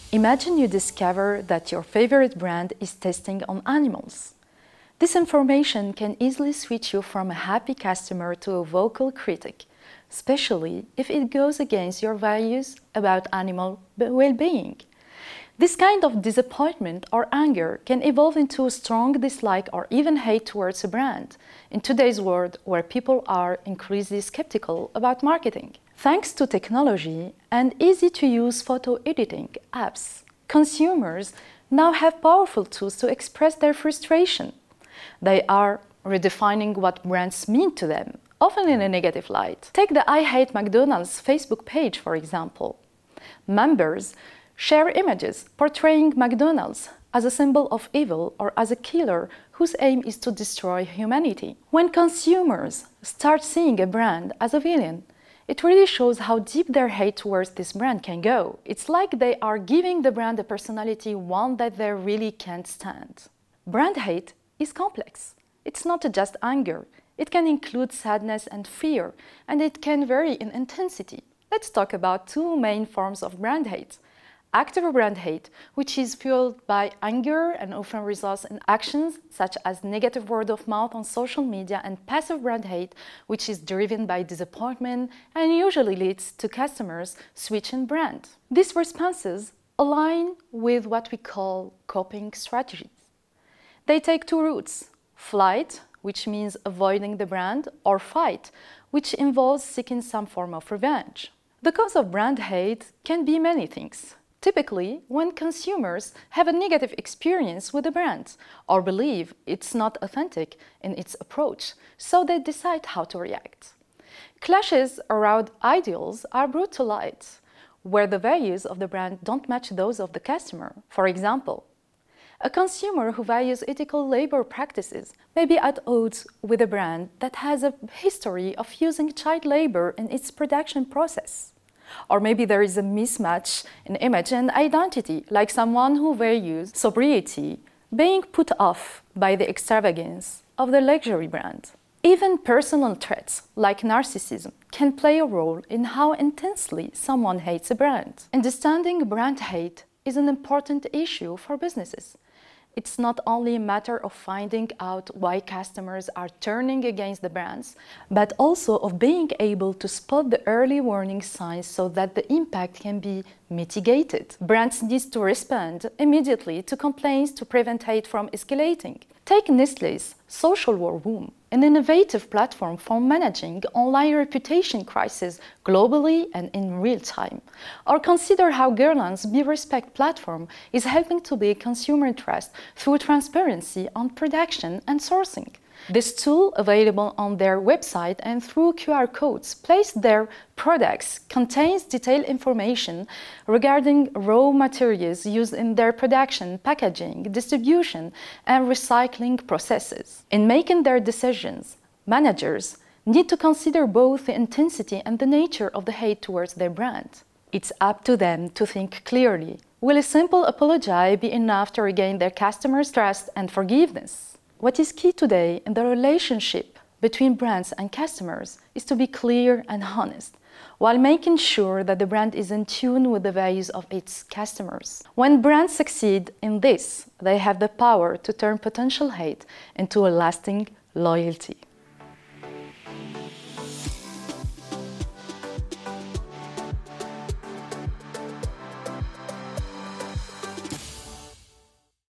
Imagine you discover that your favorite brand is testing on animals. This information can easily switch you from a happy customer to a vocal critic, especially if it goes against your values about animal well-being. This kind of disappointment or anger can evolve into a strong dislike or even hate towards a brand in today's world where people are increasingly skeptical about marketing. Thanks to technology and easy-to-use photo editing apps, consumers now have powerful tools to express their frustration. They are redefining what brands mean to them, often in a negative light. Take the I Hate McDonald's Facebook page, for example. Members share images portraying McDonald's as a symbol of evil or as a killer whose aim is to destroy humanity. When consumers start seeing a brand as a villain, it really shows how deep their hate towards this brand can go. It's like they are giving the brand a personality, one that they really can't stand. Brand hate is complex. It's not just anger. It can include sadness and fear, and it can vary in intensity. Let's talk about two main forms of brand hate. Active brand hate, which is fueled by anger and often results in actions such as negative word of mouth on social media, and passive brand hate, which is driven by disappointment and usually leads to customers switching brand. These responses align with what we call coping strategies. They take two routes: flight, which means avoiding the brand, or fight, which involves seeking some form of revenge. The cause of brand hate can be many things. Typically, when consumers have a negative experience with a brand or believe it's not authentic in its approach, so they decide how to react. Clashes around ideals are brought to light, where the values of the brand don't match those of the customer. For example, a consumer who values ethical labor practices may be at odds with a brand that has a history of using child labor in its production process. Or maybe there is a mismatch in image and identity, like someone who values sobriety being put off by the extravagance of the luxury brand. Even personal traits, like narcissism, can play a role in how intensely someone hates a brand. Understanding brand hate is an important issue for businesses. It's not only a matter of finding out why customers are turning against the brands, but also of being able to spot the early warning signs so that the impact can be mitigated. Brands need to respond immediately to complaints to prevent hate from escalating. Take Nestlé's Social War Room, an innovative platform for managing online reputation crises globally and in real time. Or consider how Guerlain's BeRespect platform is helping to build consumer trust through transparency on production and sourcing. This tool, available on their website and through QR codes placed their products, contains detailed information regarding raw materials used in their production, packaging, distribution, and recycling processes. In making their decisions, managers need to consider both the intensity and the nature of the hate towards their brand. It's up to them to think clearly. Will a simple apology be enough to regain their customers' trust and forgiveness? What is key today in the relationship between brands and customers is to be clear and honest, while making sure that the brand is in tune with the values of its customers. When brands succeed in this, they have the power to turn potential hate into a lasting loyalty.